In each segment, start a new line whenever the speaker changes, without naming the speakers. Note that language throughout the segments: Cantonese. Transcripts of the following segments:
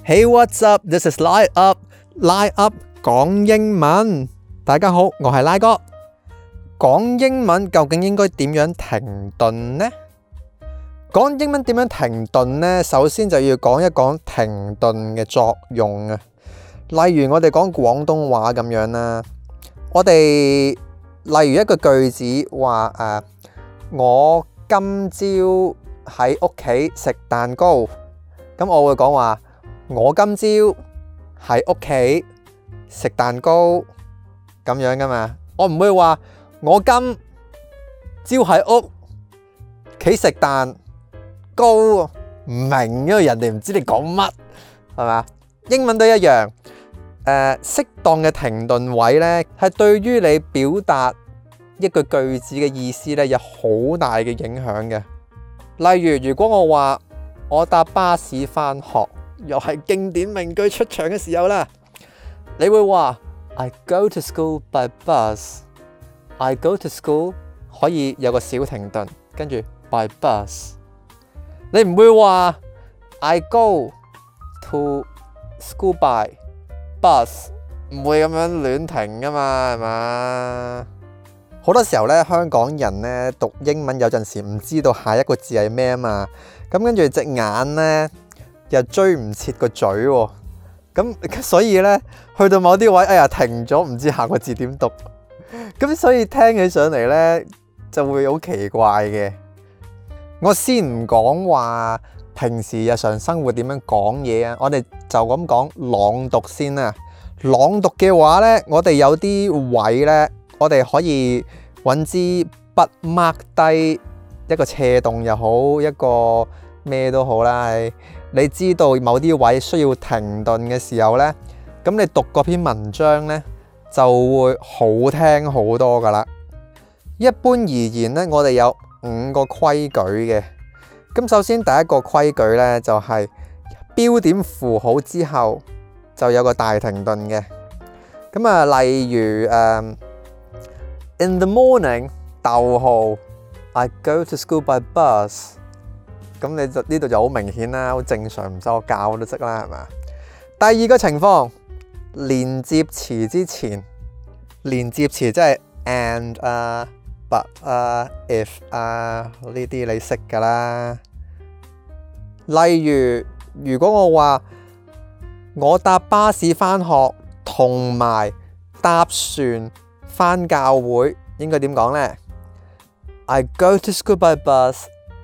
Hey, what's up? This is Lie Up. Lie Up 講英文。大家好，我係拉哥。講英文究竟應該點樣停頓呢？講英文點樣停頓呢？首先就要講一講停頓嘅作用啊。例如我哋講廣東話咁樣啦，我哋例如一個句子話我今朝喺屋企食蛋糕，咁我會講話我今朝喺屋企食蛋糕咁樣噶嘛，我唔會話我今朝喺屋企食蛋糕，唔明，因為人哋唔知你講乜，係嘛？英文都一樣，適當嘅停頓位呢，係對於你表達一句句子嘅意思呢，有好大嘅影響嘅。例如，如果我話我搭巴士返學，又係經典名句出場嘅時候啦，你會話 I go to school by bus。 I go to school 可以有個小停頓，跟住 by bus。 你唔會話 I go to school by bus， 唔會咁樣亂停噶嘛，係嘛？好多時候咧，香港人咧讀英文有陣時唔知道下一個字係咩啊嘛，咁跟住隻眼咧又追唔切個嘴喎，咁所以咧去到某啲位，哎呀停咗，唔知下個字點讀，咁所以聽起上嚟咧就會好奇怪嘅。我先唔講話平時日常生活點樣講嘢啊，我哋就咁講朗讀先啦。朗讀嘅話咧，我哋有啲位咧，我哋可以揾支筆 mark 低一個斜洞又好，一個咩都好啦。你知道某啲位需要停頓嘅時候呢，咁你讀嗰篇文章呢就會好聽好多噶啦。一般而言呢，我哋有5個規矩嘅。咁首先第一個規矩呢，就係標點符號之後就有個大停頓嘅。咁啊，例如In the morning，逗號 I go to school by bus。咁你就呢度就好明顯啦，好正常，唔使我教都識啦，係嘛？第二個情況，連接詞之前，連接詞即係 and but if 呢啲你識㗎啦。例如，如果我話我搭巴士返學同埋搭船返教會，應該點講呢？ I go to school by bus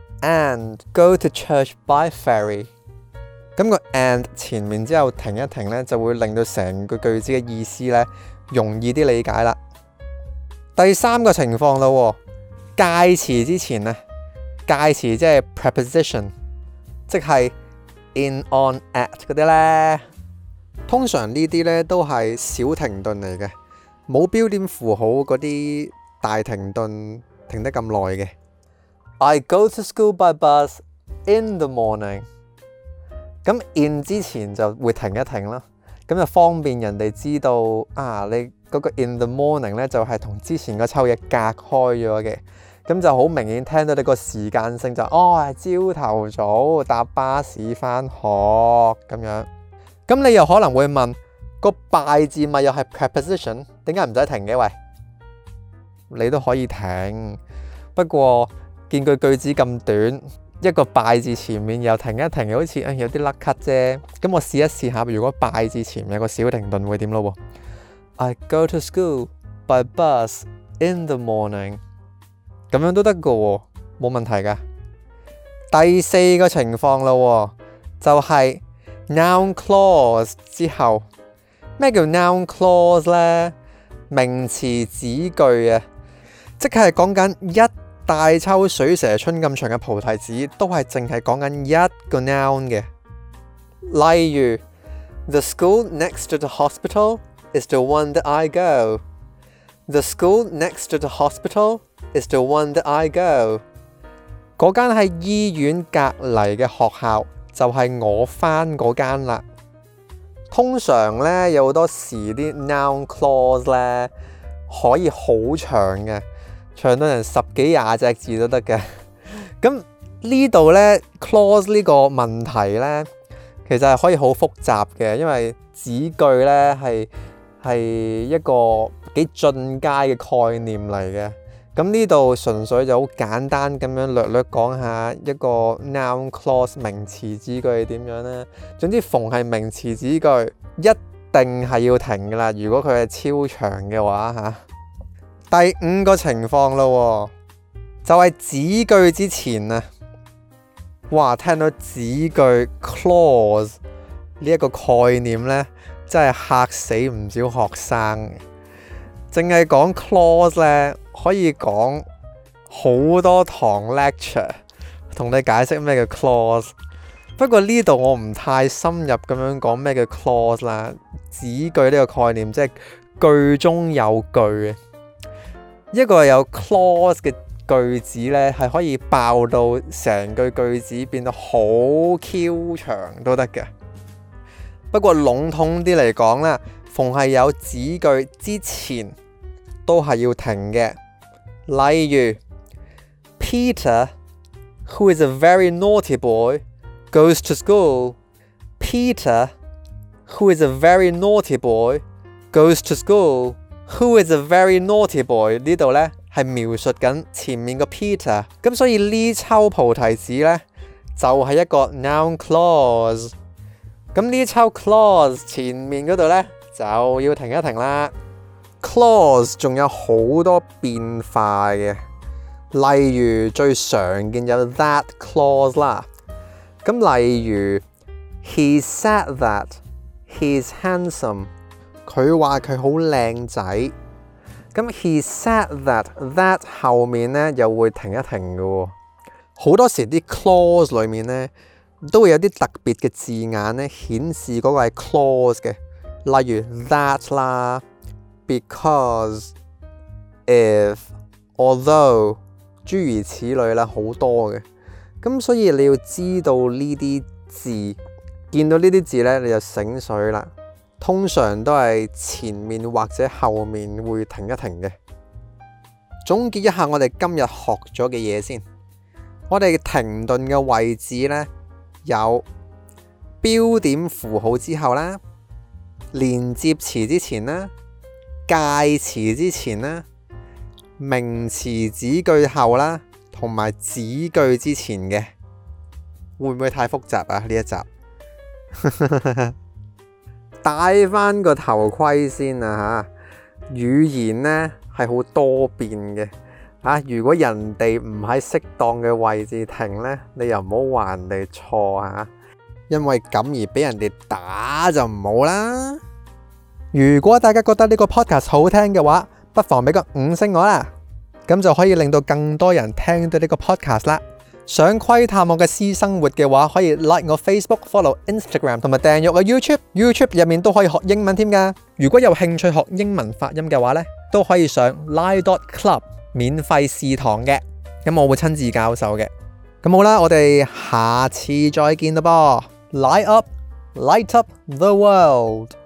and go to church by ferry。 咁個 and 前面之後停一停呢，就會令到成個句子嘅意思呢容易啲理解啦。第三個情況啦，介詞之前呢，介詞即係 preposition， 即係 in on at 嗰啲呢，通常呢啲呢都係小停頓嚟嘅，冇標點符號嗰啲大停頓停得咁耐嘅。I go to school by bus in the morning。 咁 in 之前就會停一停啦，咁就方便人哋知道你嗰個 in the morning 咧就係同之前嗰抽嘢隔開咗嘅，咁就好明顯聽到你個時間性就係朝頭早搭巴士返學咁樣。咁你又可能會問，個 by 字咪又係 preposition， 點解唔使停嘅？喂，你都可以停，不過見句子咁短，一個 by 字前面又停一停，好似有啲甩咳啫。咁我試一試下，如果 by 字前面有個小停頓會點咯？I go to school by bus in the morning。 咁樣都得噶，冇問題噶。第四個情況啦，就係 noun clause 之後。咩叫 noun clause 呢？名詞子句啊，即係講緊一大抽水蛇春咁長嘅菩提子，都係淨係講緊一個 noun 嘅。例如 The school next to the hospital is the one that I go。 The school next to the hospital is the one that I go。 嗰間喺醫院隔離嘅學校就係我返嗰間啦。通常咧有好多時啲 noun clause 咧可以好長嘅，長到人10幾20隻字都得嘅。咁呢度咧 clause 呢個問題咧其實係可以好複雜嘅，因為子句呢係一個幾進階嘅概念嚟嘅。咁呢度純粹就好簡單咁樣略講下一個 noun clause 名詞子句係點樣呢？總之逢係名詞子句一定係要停噶啦，如果佢係超長嘅話嚇。第5個情況咯，就係子句之前啊，哇！聽到子句 clause 呢一個概念呢，真係嚇死唔少學生。淨係講 clause 呢，可以講好多堂 lecture 同你解釋咩叫 clause。不過呢度我唔太深入咁樣講咩叫 clause 啦。子句呢個概念即係句中有句，一個有 clause 嘅句子呢，係可以爆到成句子變得好 Q 長都得嘅。不過籠統啲嚟講啦，逢係有子句之前都係要停嘅。例如 Peter, who is a very naughty boy, goes to school. Peter, who is a very naughty boy, goes to school. Who is a very naughty boy 呢度呢係描述緊前面個 Peter， 咁所以呢抽菩提子呢就係一個 noun clause。咁呢抽 clause 前面嗰度呢就要停一停啦。clause 仲有好多變化嘅，例如最常見有 that clause 啦。咁例如 He said that he's handsome， 佢話佢好靚仔。咁 He said that 後面呢又會停一停嘅喎。好多時啲 clause 裏面呢都會有啲特別嘅字眼呢顯示嗰個係 clause 嘅，例如 that 啦。Because, if, although 諸如此類啦，好多嘅。咁所以你要知道呢啲字，見到呢啲字呢，你就醒水啦。通常都係前面或者後面會停一停嘅。總結一下我哋今日學咗嘅嘢先。我哋停頓嘅位置呢，有標點符號之後啦，連接詞之前啦，介詞之前啦，名詞子句後啦，同埋子句之前嘅，會唔會太複雜啊？呢一集戴翻個頭盔先啊嚇！語言呢係好多變嘅嚇，如果人哋唔喺適當嘅位置停呢，你又唔好話人哋錯嚇，因為咁而俾人哋打就唔好啦。如果大家覺得呢個 podcast 好聽嘅話，不妨俾個5星我啦，咁就可以令到更多人聽到呢個 podcast 啦。想窺探我嘅私生活嘅話，可以 like 我 Facebook、follow Instagram 同埋訂閱我 YouTube 入面都可以學英文添㗎。如果有興趣學英文發音嘅話呢，都可以上 Lai.club 免費試堂嘅，咁我會親自教授嘅。咁好啦，我哋下次再見啦噃。Light up, light up the world。